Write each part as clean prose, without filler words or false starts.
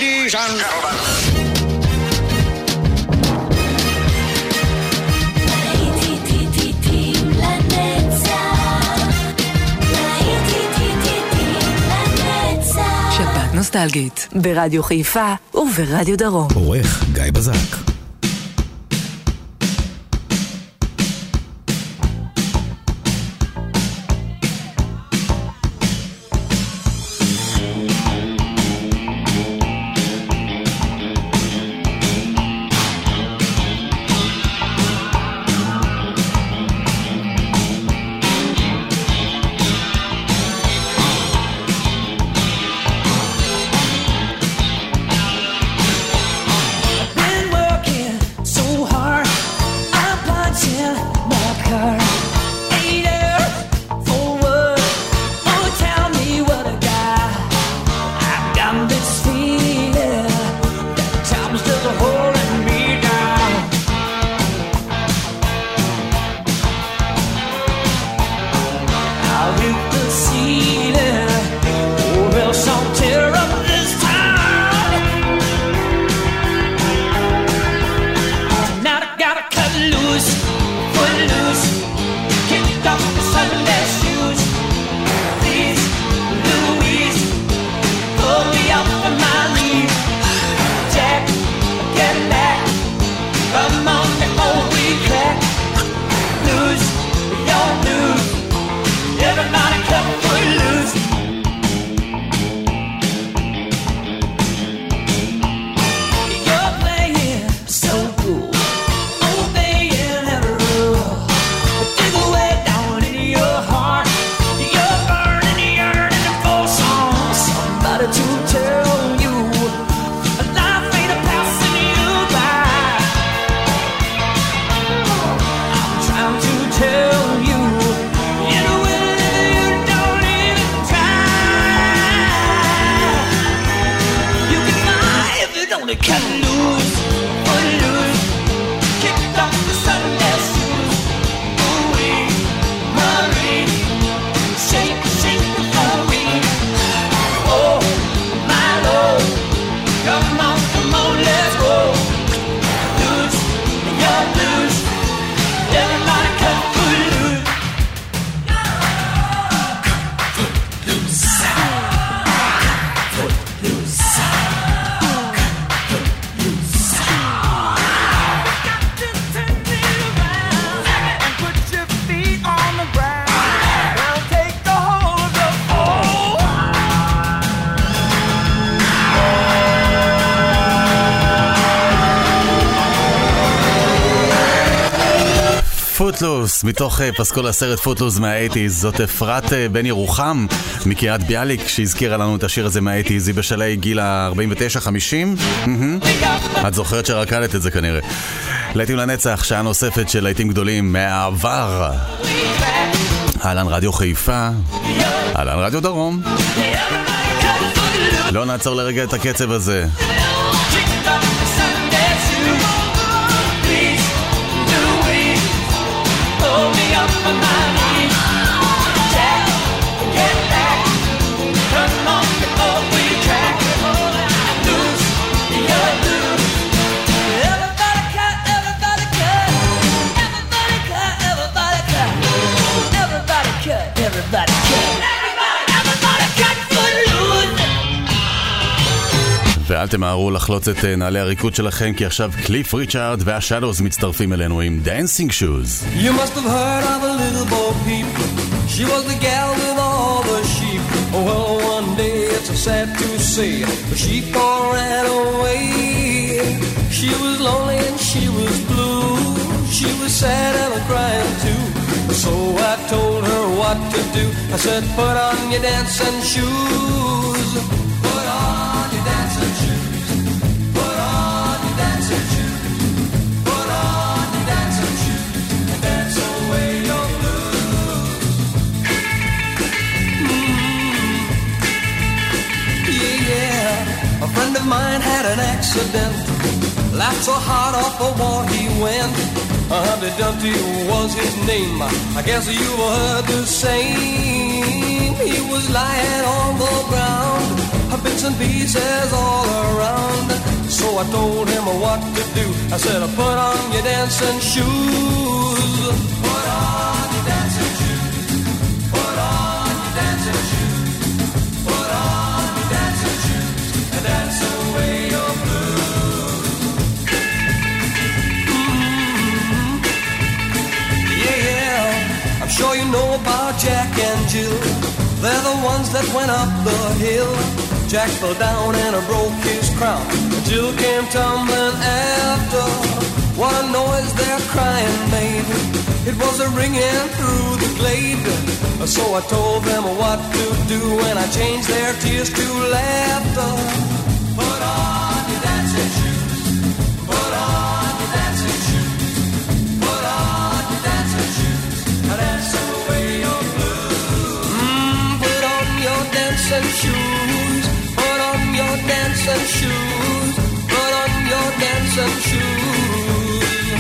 Ladies and gentlemen. שבת נוסטלגית ברדיו חיפה וברדיו דרום. עורך גיא בזק. פוטלוס, מתוך פסקול הסרט פוטלוס מה-80s. זאת אפרת בן ירוחם מקריית ביאליק שהזכירה לנו את השיר הזה מה-80s. היא בשלהי גיל ה-49-50. את זוכרת שרקדת את זה כנראה. להיטים לנצח, שעה נוספת של להיטים גדולים מהעבר. אהלן רדיו חיפה, אהלן רדיו דרום. לא נעצור לרגע את הקצב הזה. ואל תמהרו לחלוץ את נעלי הריקוד שלכם, כי עכשיו קליף ריצ'ארד והשאדוס מצטרפים אלינו עם Dancing Shoes. You must have heard of a little Bo Peep. She was the gal with all the sheep. Well, one day it's sad to say, but she ran away. She was lonely and she was blue. She was sad and crying too. So I told her what to do. I said, put on your dancing shoes. Put on your dancing shoes. Put on your dancing shoes. Put on your dancing shoes. And dance away your blues. Yeah. A friend of mine had an accident. Laughed so hard off the wall he went. Humpty Dumpty was his name. I guess you've heard the same. He was lying on the ground, bits and pieces all around. I told him what to do. I said, put on your dancing shoes. Put on your dancing shoes. Put on your dancing shoes. Put on your dancing shoes and dance away your blues. Yeah, I'm sure you know about Jack and Jill. They're the ones that went up the hill. Jack fell down and broke his crown. Jill came tumbling after. What a noise their crying made. It was a ringing through the glade. So I told them what to do, and I changed their tears to laughter. Put on your dancing shoes. Put on your dancing shoes. Put on your dancing shoes. Dance away your blues. Put on your dancing shoes. Put on your dancing shoes. Put on your dancing shoes.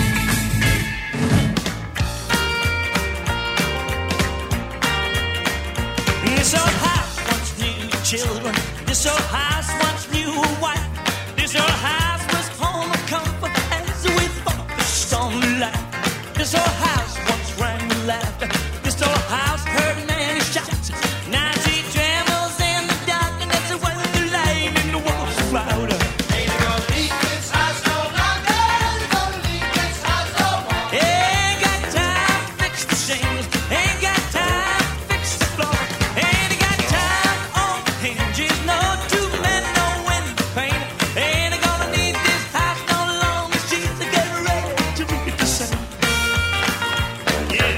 This old house once knew children. This old house once knew a wife. This old house was home of comfort as we focused on life. This old house once rang with laughter. This old house heard many shots. Now she trembles in the dark, and that's when the light in the walls is louder. Ain't gonna leave this house no longer. Ain't gonna leave this house no more. Ain't got time to fix the shingles. Ain't got time to fix the floor. Ain't got time on the hinges. No two men, no window pane. Ain't gonna need this house no longer. She's getting ready to read the same. Yeah.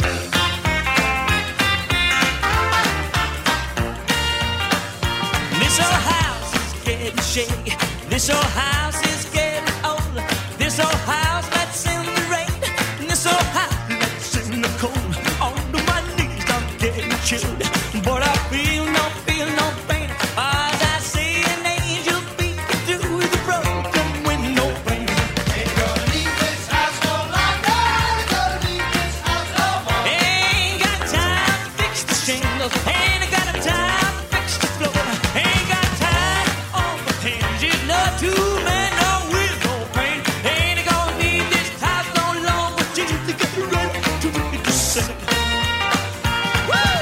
This old house is getting shaky. This old house is getting old. This old house lets in the rain. And this old house lets in the cold. Onto my knees, I'm getting chilled. But I feel no pain. As I see an angel peeking through the broken window pane. Ain't gonna leave this house no longer. Ain't gonna leave this house no more. Ain't got time to fix the shingles. Ain't got time to fix the floor. Ain't got time on the hinges. No two men, no wheel, no pain. Ain't gonna need this house no longer. Till they get ready to read the same. Woo! I'm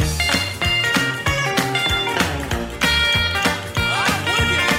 with you.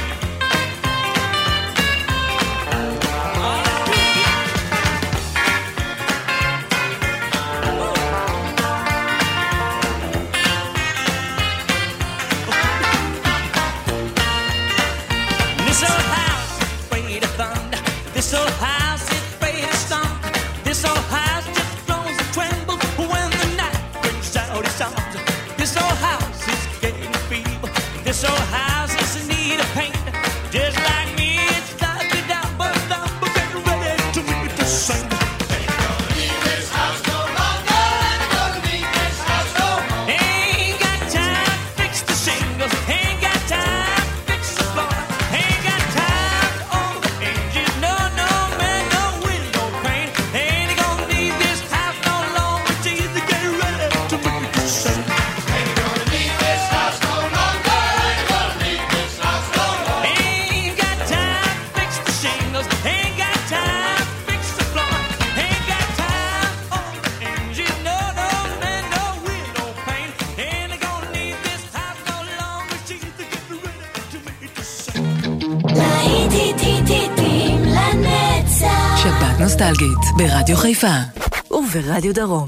This old house is afraid of thunder. This old house is afraid of storm. This old house just groans and trembles when the night brings out its arms. This old house is getting feeble. This old house is in need of paint. Just like me, it's started down, but getting ready to read the same. Ain't gonna leave this house no longer. Ain't gonna leave this house no more. Ain't got time to fix the shingles. Ain't got time to fix the floor. Ain't got time on the hinges. No man, no window pane. Ain't gonna need this house no longer. Till they get ready to read the same. Ain't gonna leave this house no longer. Ain't gonna leave this house no more. Ain't got time to fix the shingles. Ain't got time to fix the floor. Ain't got time on the hinges. No man, no window pane. Ain't gonna need this house no longer. Till they get ready to read the same. להיטים לנצח. שבת נוסטלגית ברדיו חיפה וברדיו דרום.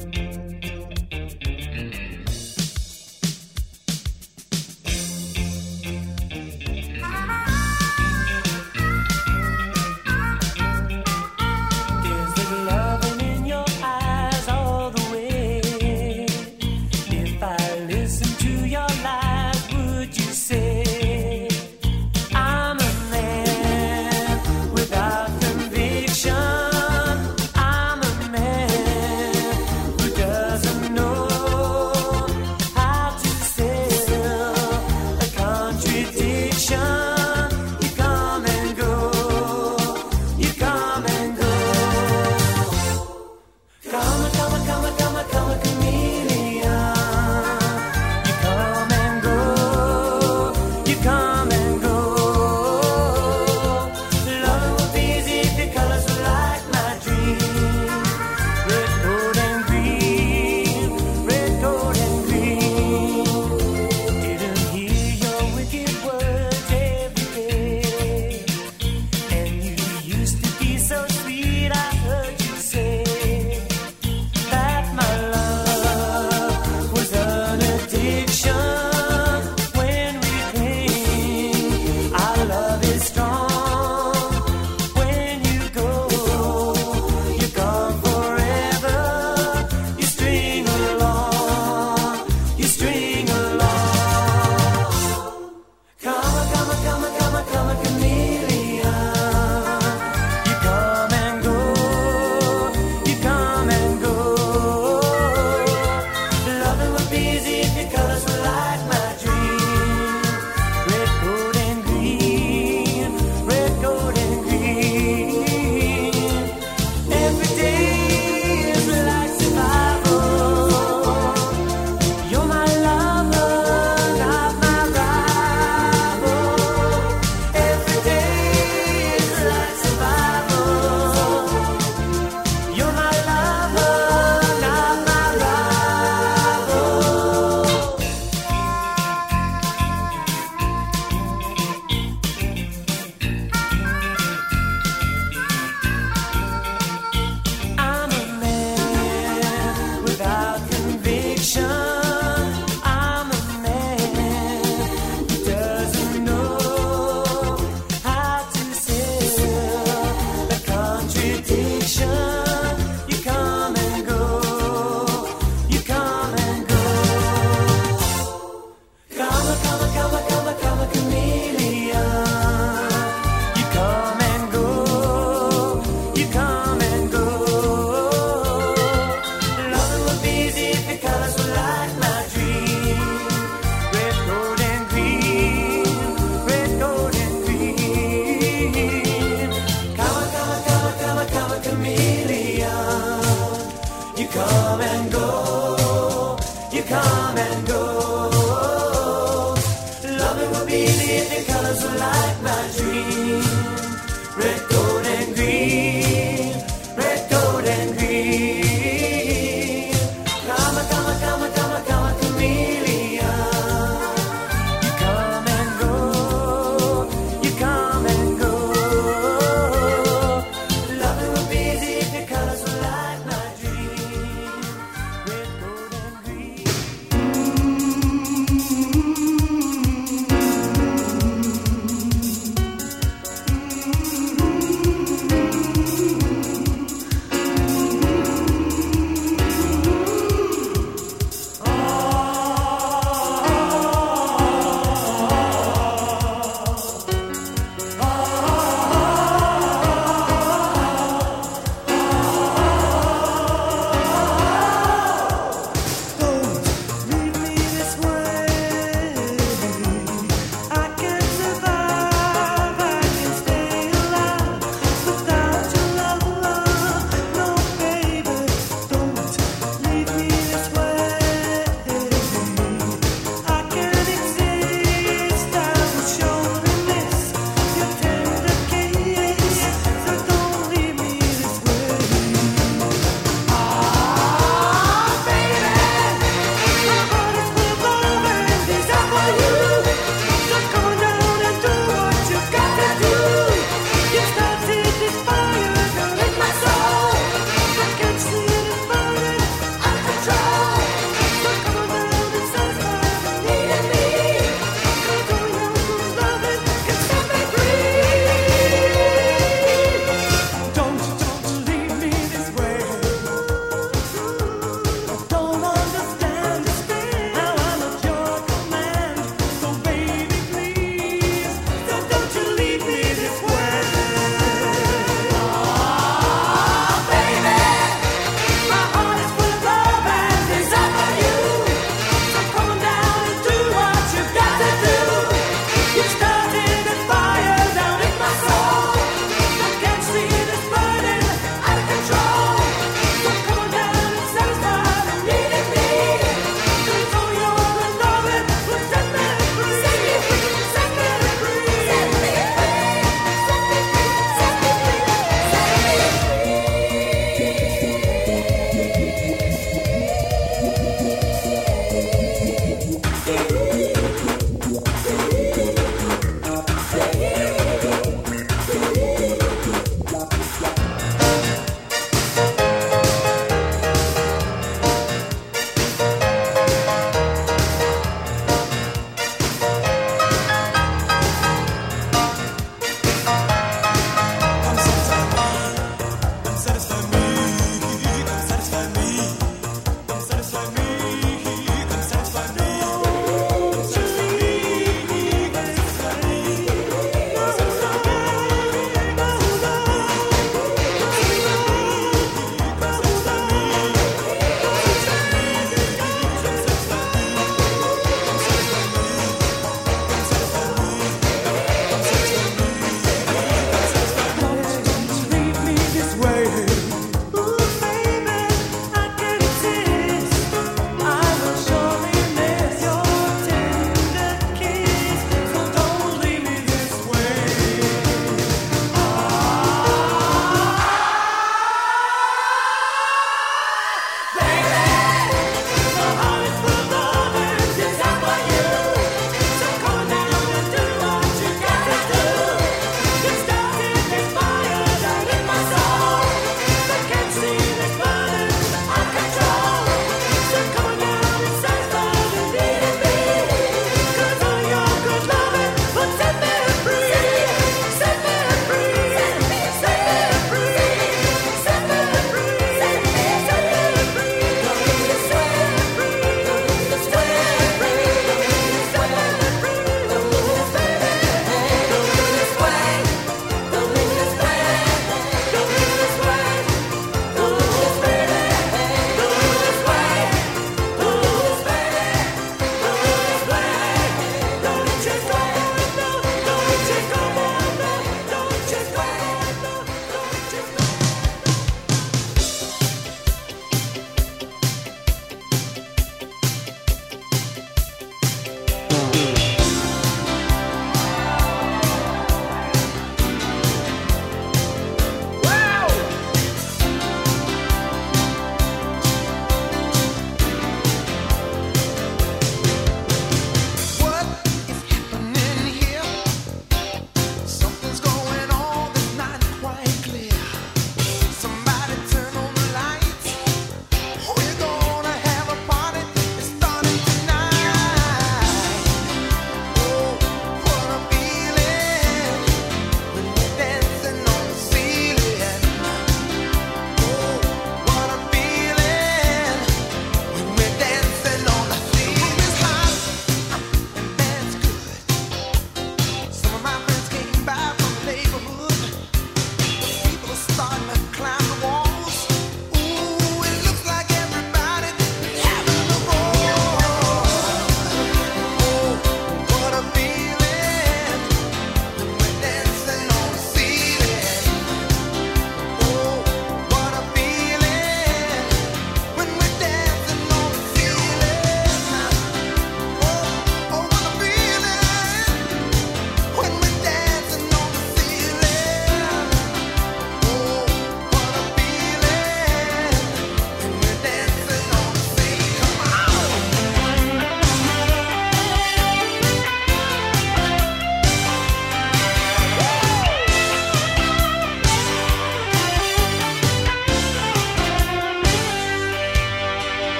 Is the loving in your eyes all the way? If I listen to your lies, would you say I'm a man without conviction? I'm a man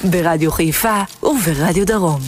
ברדיו חיפה וברדיו דרום.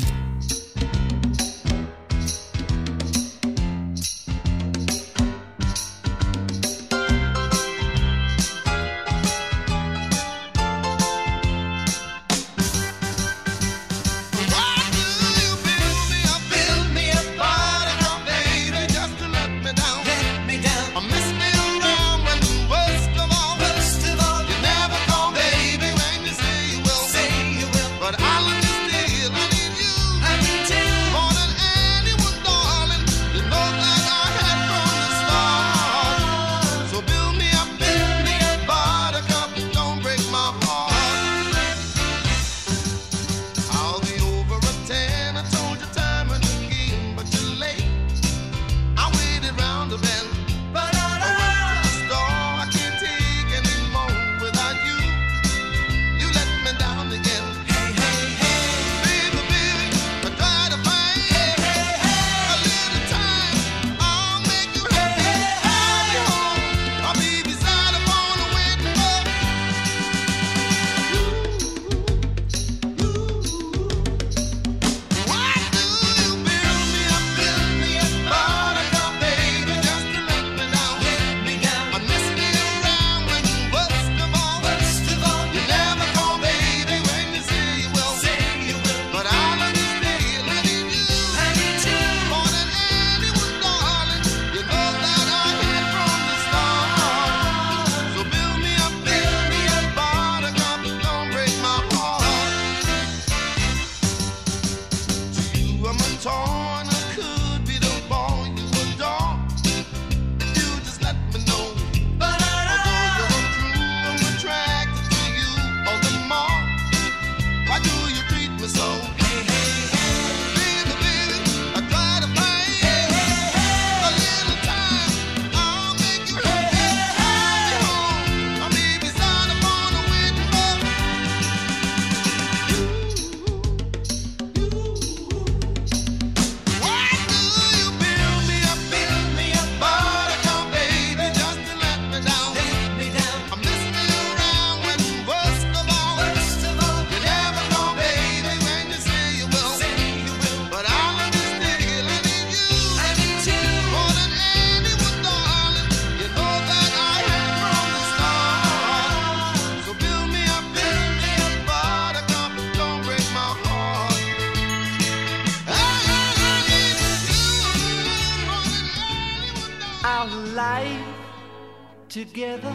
Together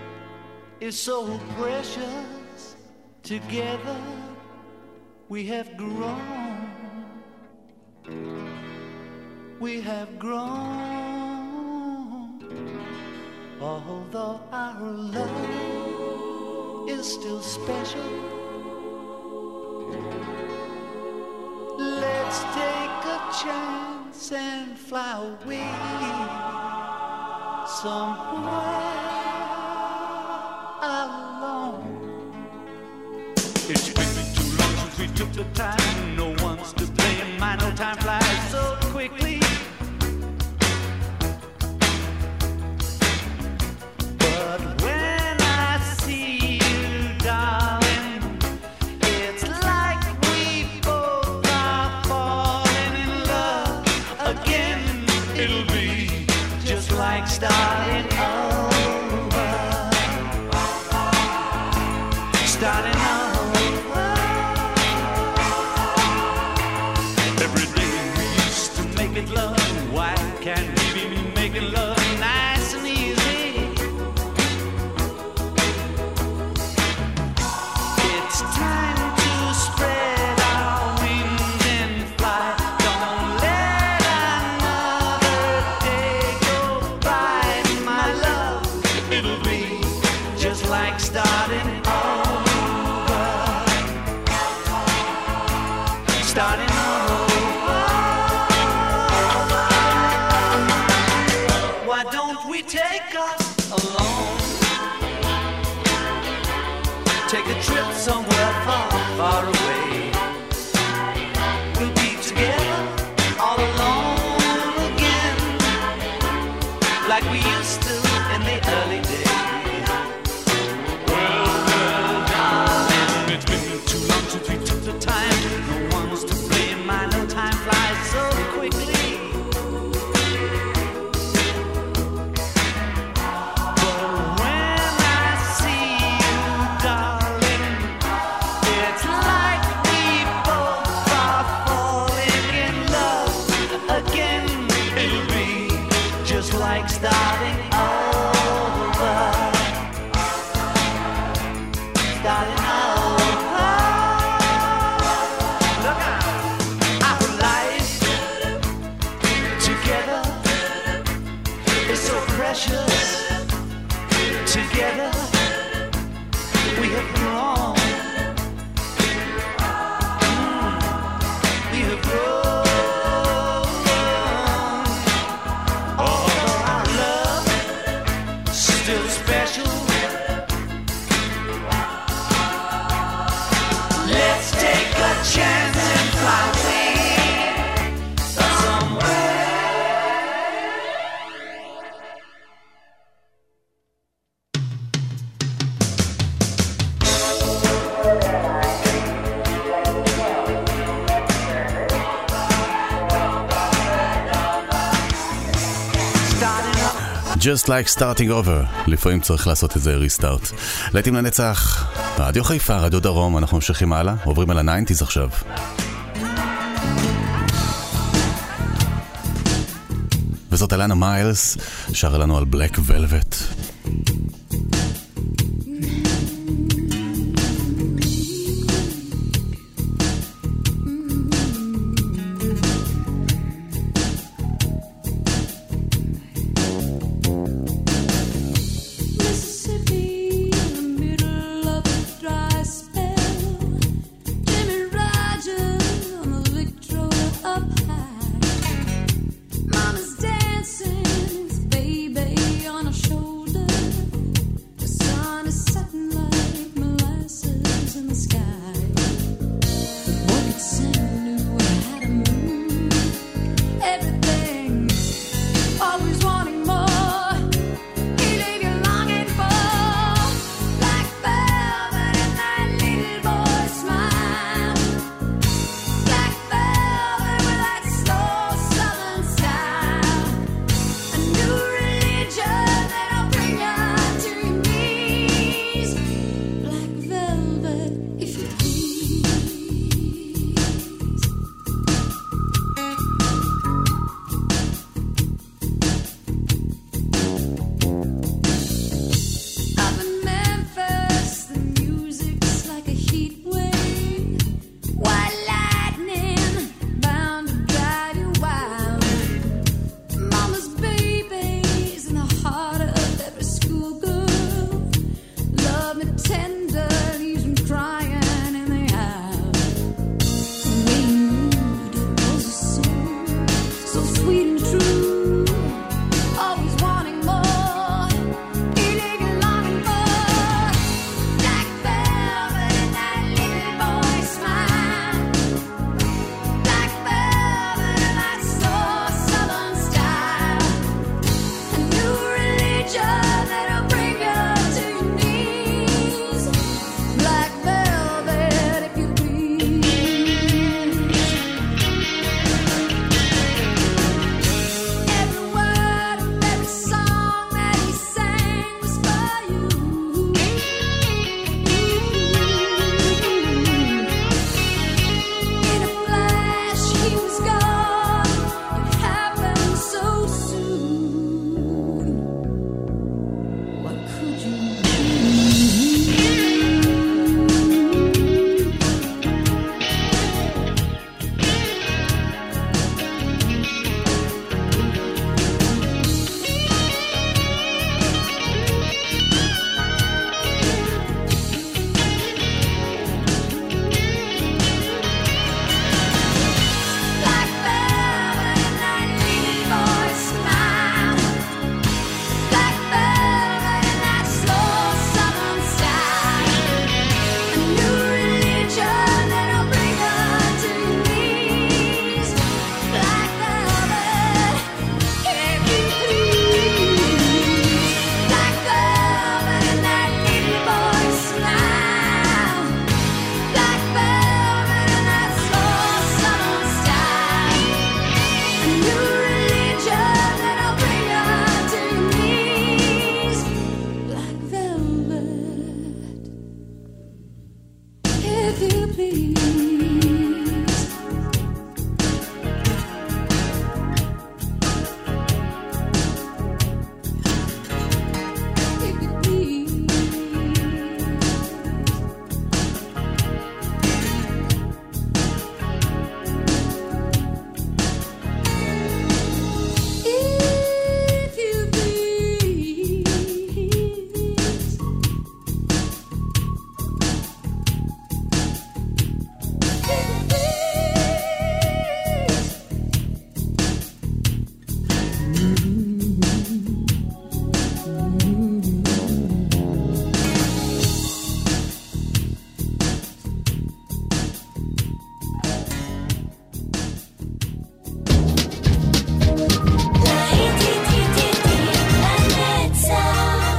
is so precious. Together we have grown. We have grown. Although our love is still special, let's take a chance and fly away somewhere alone. It's been too long since we took the time. No one's to blame. My no time flies so quickly. But when I see you, darling, it's like we both are falling in love again. It'll be just like starting over, starting over. Every day we used to make it love. Why can't we be making love nice and easy? It's time to spread our wings and fly. Don't let another day go by, my love. It'll be just like starting over, starting over. Why don't we take us alone? Take a trip somewhere far, far away. We'll be together all alone again, like we used to in the early days. Well, darling, it's been too long since we took the time. No one's to blame. I know time flies so quickly. Starting over, starting over. Look out, our life together is so precious. Together we have grown. We have grown. Chance and fly away Just like starting over. לפעמים צריך לעשות איזה ריסטארט. להיטים לנצח, רדיו חיפה, רדיו דרום, אנחנו ממשיכים הלאה, עוברים על ה-90s עכשיו. וזאת אלנה מיילס, שרה לנו על בלק ולווט.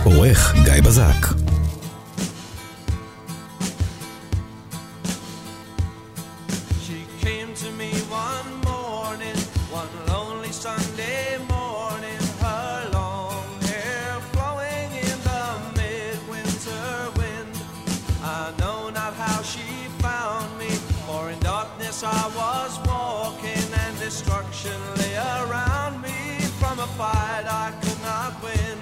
עורך גיא בזק. I was walking and destruction lay around me from a fight I could not win.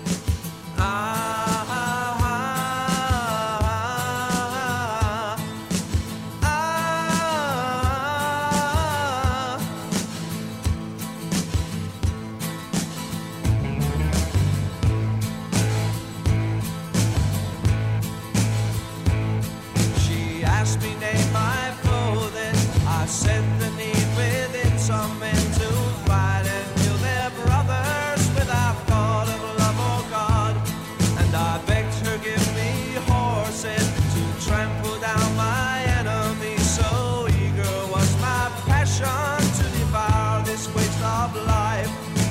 She asked me name my I said the need within some men to fight and kill their brothers without thought of love or God. And I begged her give me horses to trample down my enemies. So eager was my passion to devour this waste of life.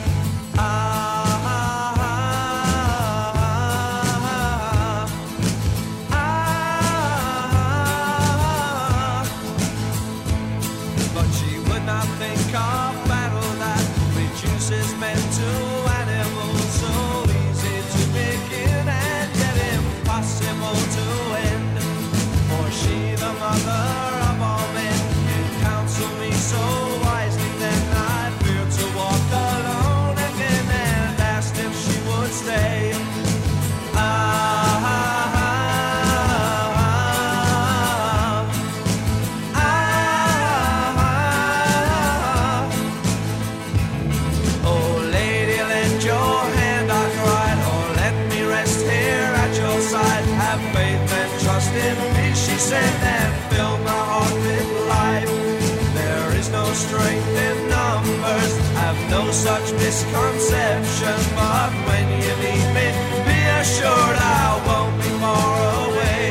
And fill my heart with life. There is no strength in numbers, have no such misconception. But when you meet me, be assured I won't be far away.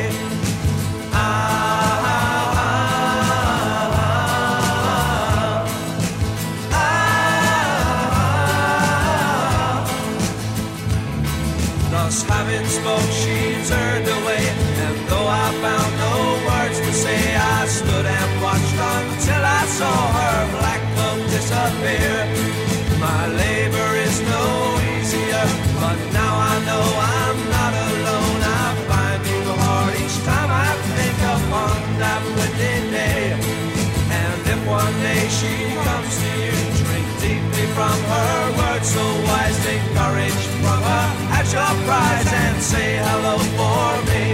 Thus having spoke, she turned away, and though I found no words to say, I stood and watched until I saw her black cloak disappear. My labor is no easier, but now I know I'm not alone. I find new heart each time I think upon that wicked day. And if one day she comes to you, drink deeply from her words so wise, take courage from her at your prize and say hello for me.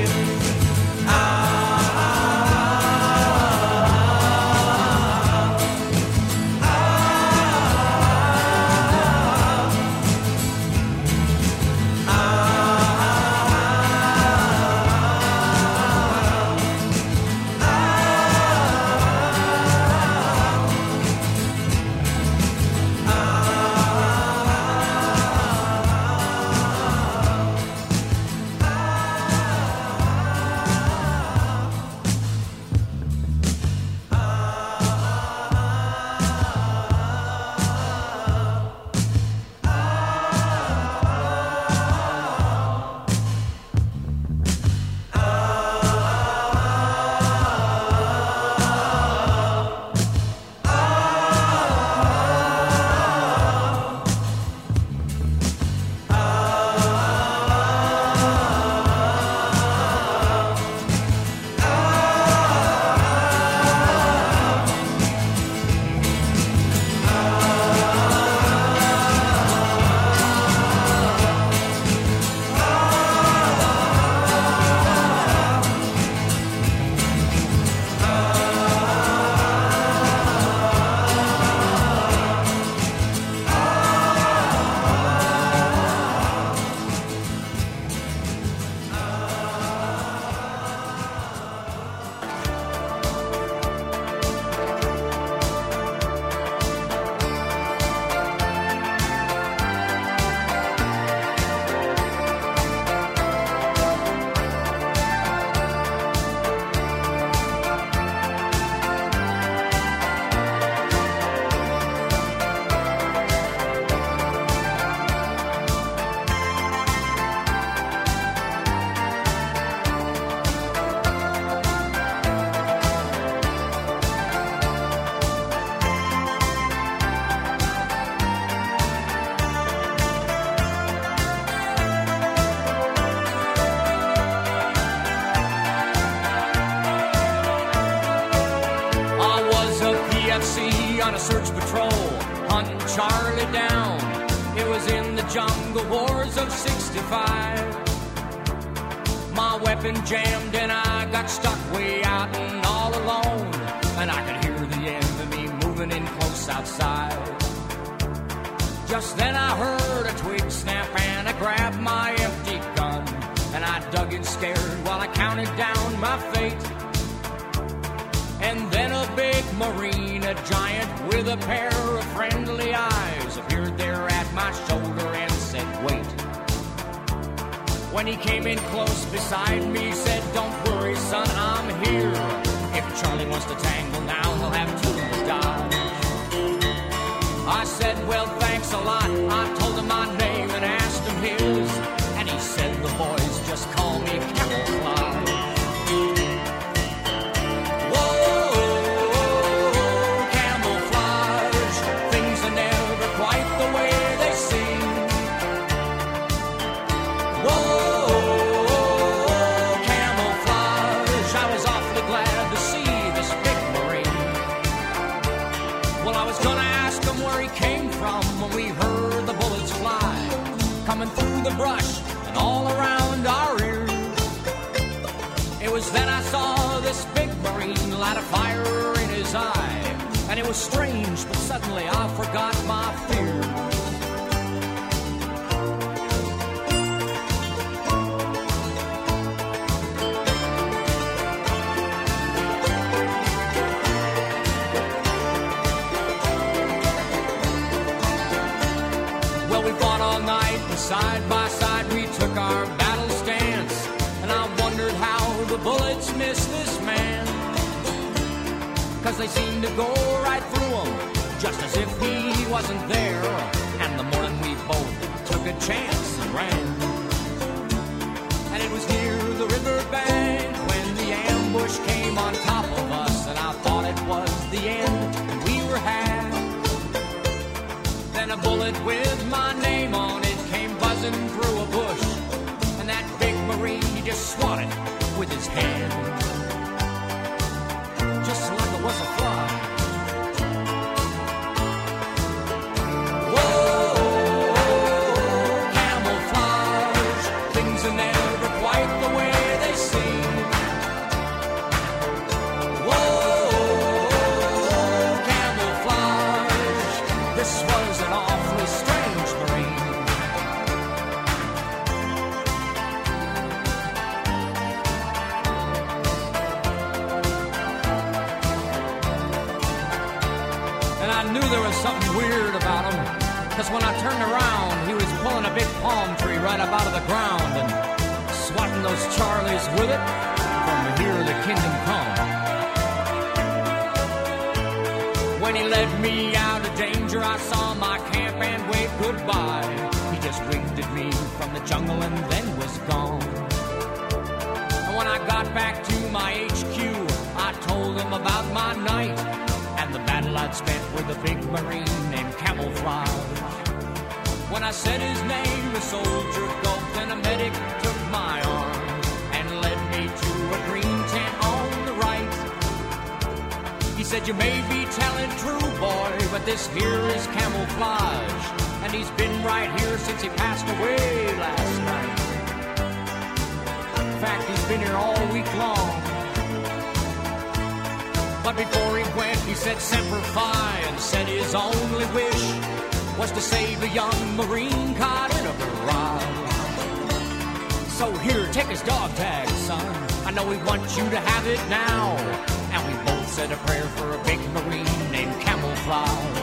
search patrol, hunting Charlie down. It was in the jungle wars of 65. My weapon jammed and I got stuck way out and all alone. And I could hear the enemy moving in close outside. Just then I heard a twig snap and I grabbed my empty gun. And I dug in scared while I counted down my fate. And then a big Marine, a giant with a pair of friendly eyes, appeared there at my shoulder and said, wait. When he came in close beside me, said, don't worry, son, I'm here. If Charlie wants to tangle now, he'll have to die. I said, well, thanks a lot. I told him my name and asked him his. And he said, the boys just call me Camouflage. Coming through the brush and all around our ears. It was then I saw this big Marine light a fire in his eye. And it was strange, but suddenly I forgot my fear. Well, we fought all night, and side by side we took our battle stance. And I wondered how the bullets missed this man. 'Cause they seemed to go right through him, just as if he wasn't there. And the morning we both took a chance and ran. And it was near the riverbank when the ambush came on top of us. And I thought it was the end, and we were had. Then a bullet with my name on it came buzzing through a bush. And that big Marine, he just swatted with his hand, just like it was a fly. Whoa, camouflage, things are never quite the way they seem. Whoa, camouflage, this was an awfully strange Marine. And I knew there was something weird about him, 'cause when I turned around, he was pulling a big palm tree right up out of the ground and swatting those Charlies with it from Here the Kingdom Come. When he led me out of danger, I saw my camp and waved goodbye. He just winked at me from the jungle and then was gone. And when I got back to my HQ, I told him about my night and the battle I'd spent with a big Marine named Camouflage. When I said his name, the soldier gulped and a medic took my arm and led me to a green tent on the right. He said, you may be telling true, boy, but this here is Camouflage, and he's been right here since he passed away last night. In fact, he's been here all week long. But before he went, he said Semper Fi, and said his only wish was to save a young Marine caught in a barrage. So here, take his dog tag, son. I know we want you to have it now. And we both said a prayer for a big Marine named Camouflage.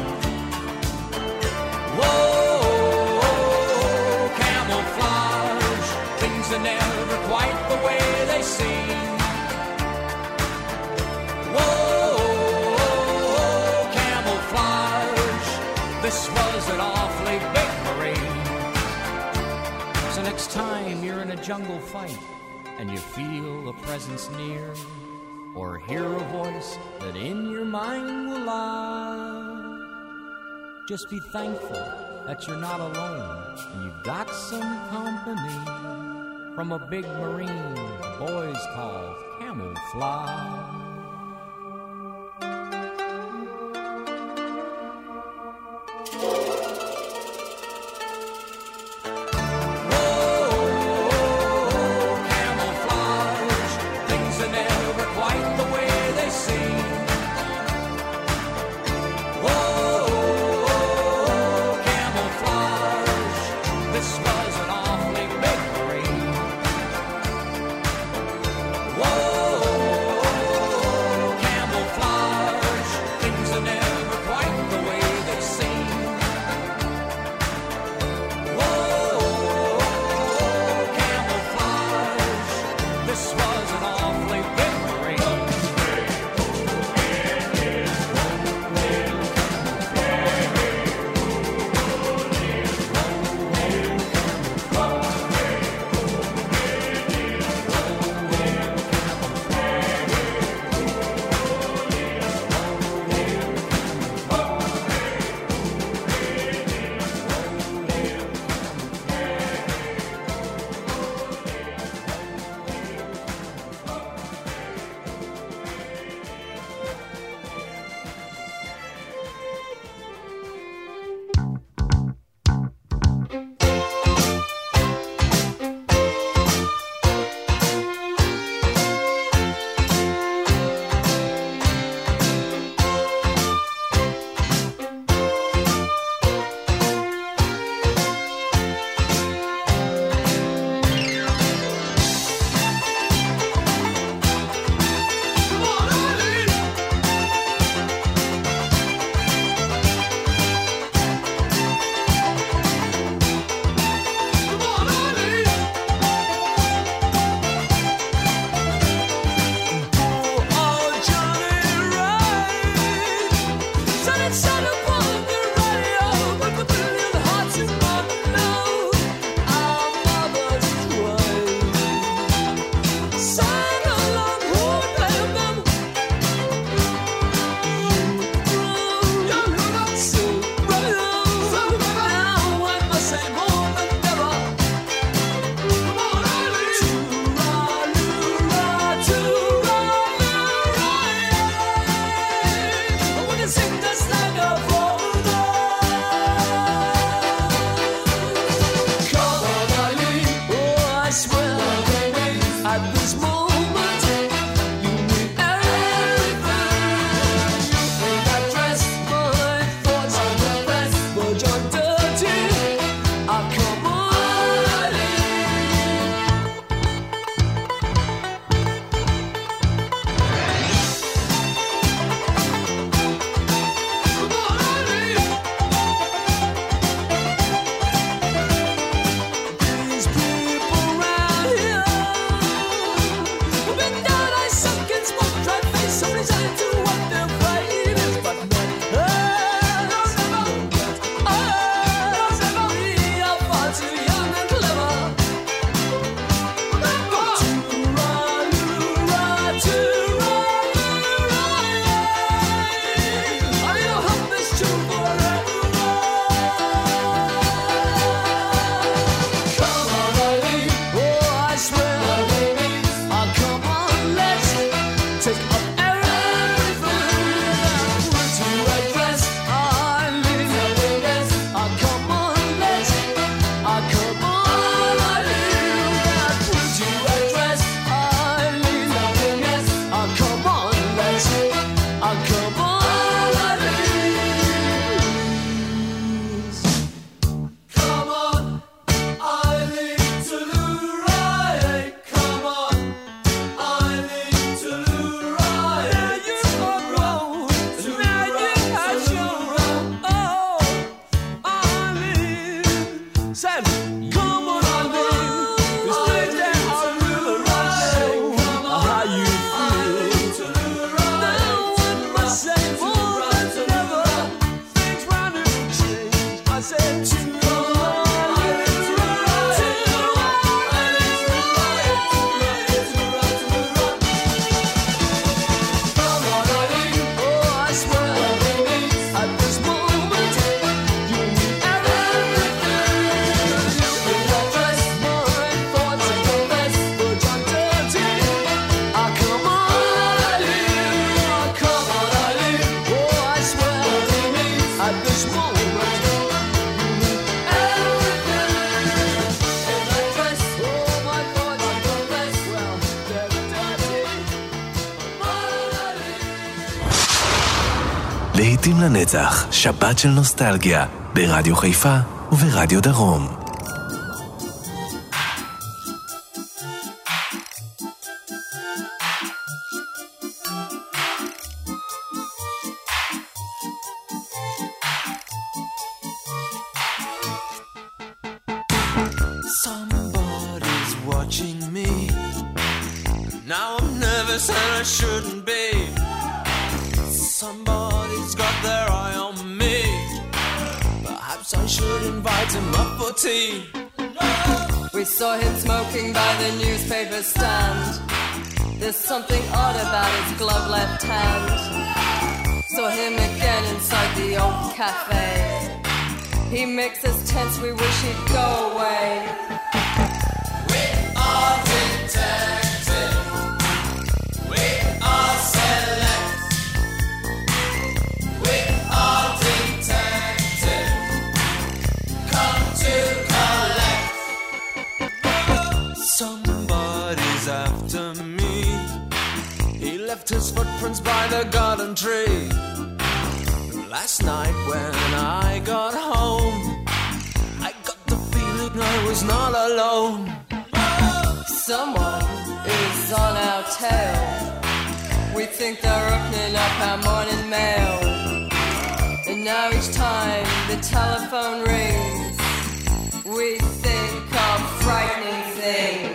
Whoa, camouflage, things are never quite the way they seem. Whoa, camouflage, this was an awfully big Marine. So next time you're in a jungle fight and you feel a presence near, or hear a voice that in your mind will lie, just be thankful that you're not alone and you've got some company from a big Marine the boys call Camouflage. swear, at this moment, you mean everything. You think I dress my thoughts on the best, but you're dirty. I'll come on. These people around here have been down, I suck and smoke, try to face somebody's eye to what their fight is, but not we are far too young and clever. I will hum this tune forever. Come on, Eileen. Oh, I swear, oh, come on, let's take up everything. To address Eileen. Oh, come on, let's. Oh, come on, Eileen. To address Eileen. Oh, come on, let's. Oh, come on, Eileen. Come on, Eileen to right. Come on, Eileen to right. Now you are grown. Now you have shown. Oh, Eileen. Said, come on, Eileen. This thing that I really know how you feel. Now one must say more than never. Things round and change. I said to להיטים לנצח, שבת של נוסטלגיה, ברדיו חיפה וברדיו דרום. Somebody's watching me. Now I'm nervous and I shouldn't be. Somebody's got their eye on me. Perhaps I should invite him up for tea. We saw him smoking by the newspaper stand. There's something odd about his glove left hand. Saw him again inside the old cafe. He makes us tense, we wish he'd go away. We are detected. We are select. We are detected. Come to collect. Somebody's after me. He left his footprints by the garden tree. Last night when I got home, I got the feeling I was not alone. Someone is on our tail. We think they're opening up our morning mail. And now each time the telephone rings, we think of frightening things.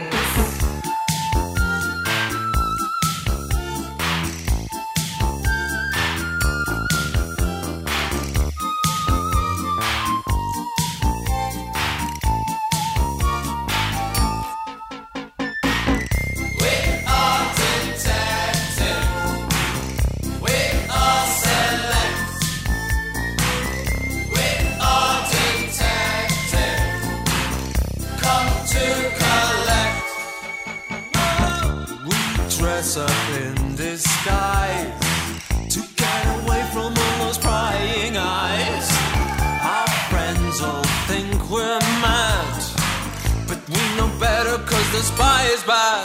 Dress up in disguise to get away from all those prying eyes. Our friends all think we're mad, but we know better 'cause 'cause the spy is bad.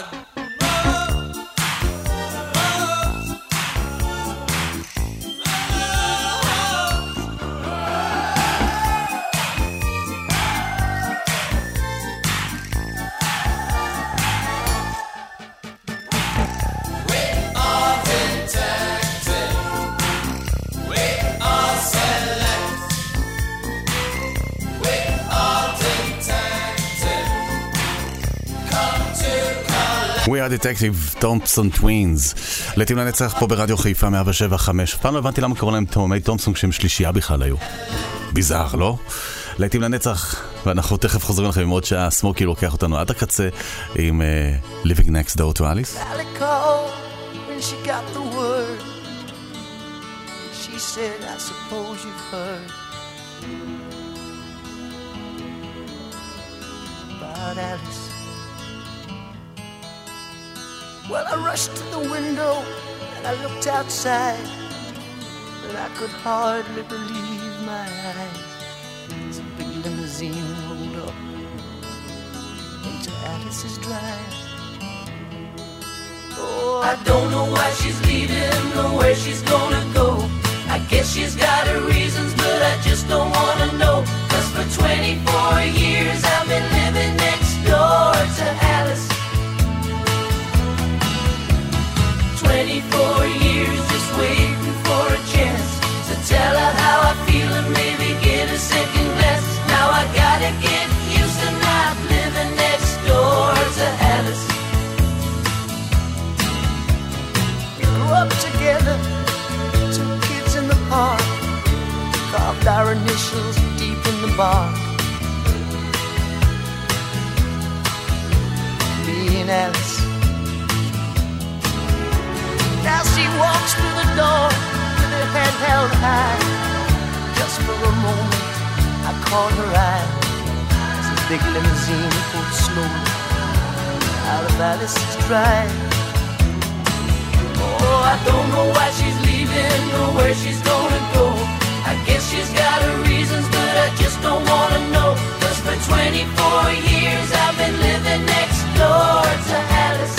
We are Detective, תומפסון טווינס. לעתים לנצח פה ברדיו חיפה 107.5. פעם לא הבנתי למה קראו להם תאומי תומפסון כשהם שלישייה בכלל היו. ביזר, לא? לעתים לנצח, ואנחנו תכף חוזרים לכם עם עוד שעה. סמוקי לוקח אותנו עד הקצה עם Living Next Door to Alice. Sally called when she got the word. She said, I suppose you've heard about Alice. Well, I rushed to the window and I looked outside, but I could hardly believe my eyes. As a big limousine rolled up into Alice's drive. Oh, I don't know why she's leaving or where she's gonna go. I guess she's got her reasons, but I just don't wanna know. 'Cause for 24 years I've been living next door to Alice. 24 years just waiting for a chance to tell her how I feel and maybe get a second glance. Now I gotta get used to not living next door to Alice. We grew up together, 2 kids in the park, carved our initials deep in the bark. Me and Alice. Now she walks through the door with her head held high. Just for a moment I caught her eye as a big limousine pulled slowly out of Alice's drive. Oh, I don't know why she's leaving or where she's gonna go. I guess she's got her reasons, but I just don't wanna know. 'Cause for 24 years I've been living next door to Alice.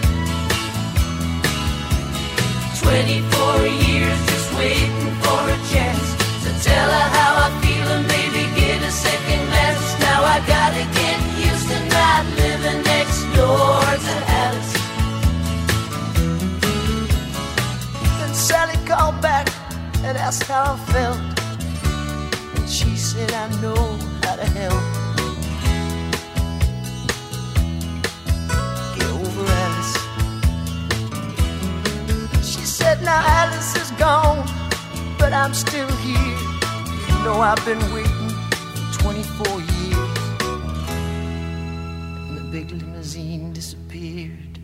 24 years just waiting for a chance to tell her how I feel and maybe get a second glance. Now I gotta get used to not living next door to Alice. Then Sally called back and asked how I felt, and she said I know how to help. Get over Alice. Now Alice is gone, but I'm still here. You know I've been waiting for 24 years, and the big limousine disappeared.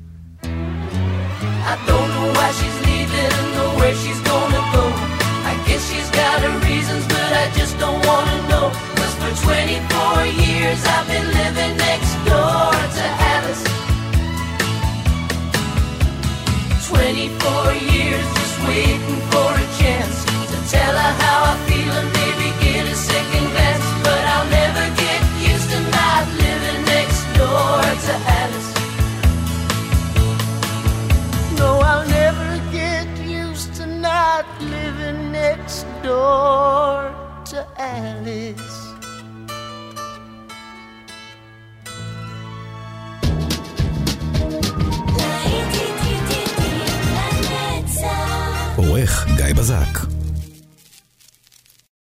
I don't know why she's leaving or where she's gonna go. I guess she's got her reasons, but I just don't wanna know. 'Cause for 24 years I've been living next door to Alice. 24 years just waiting for a chance to tell her how I feel and maybe get a second glance. But I'll never get used to not living next door to Alice. No, I'll never get used to not living next door to Alice. עורך גיא בזק.